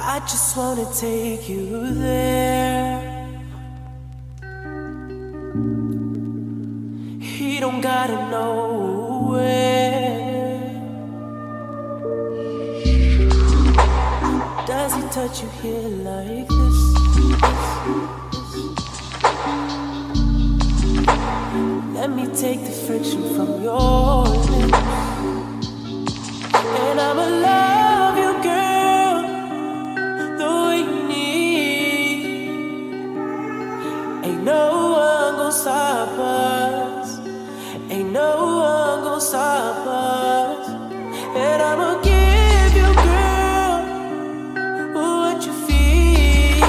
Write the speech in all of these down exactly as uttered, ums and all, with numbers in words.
I just wanna take you there. He don't gotta know where. Does he touch you here like this? Let me take the friction from your lips, and I'ma love you, girl, the way you need. Ain't no one gon' stop us. Ain't no one gon' stop us. And I'ma give you, girl, what you feel.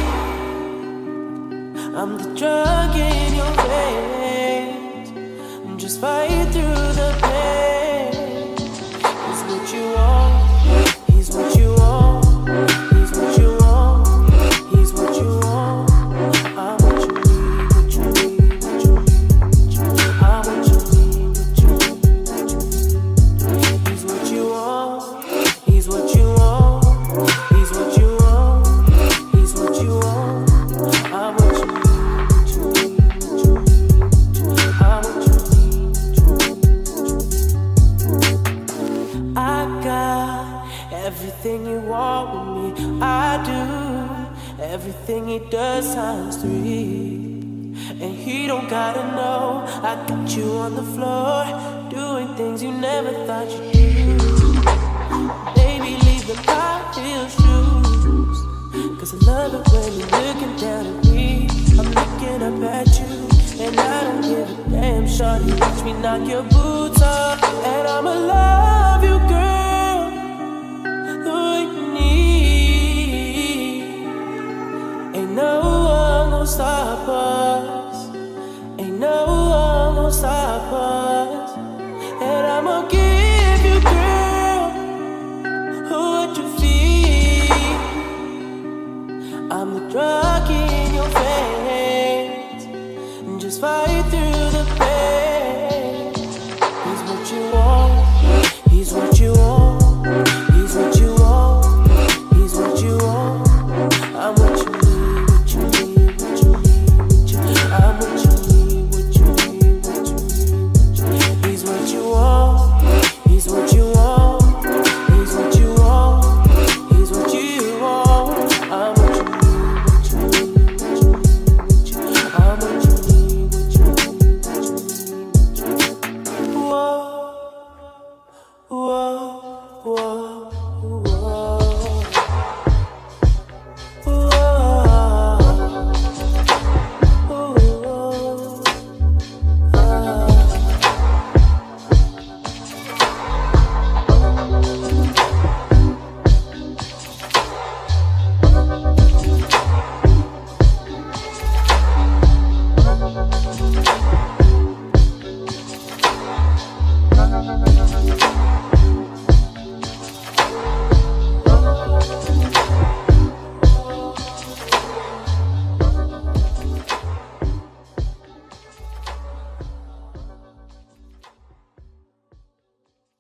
I'm the drug in your veins. Just fight through the pain. He's what you want. He's what you want. He's what you want. He's what you want. I'm what you need. What you need. What you need. I'm what you need. What you need. He's what you want. He's what you want. He's what you want. He's what you want. I'm what you need. What you need. What you need. I'm what you need. I got everything you want with me. I do everything he does times three. And he don't gotta know I got you on the floor, doing things you never thought you'd do. Baby, leave the high heel shoes, cause I love it when you're looking down at me. I'm looking up at you, and I don't give a damn. Shawty, watch me knock your boots off, and I'ma love you, girl,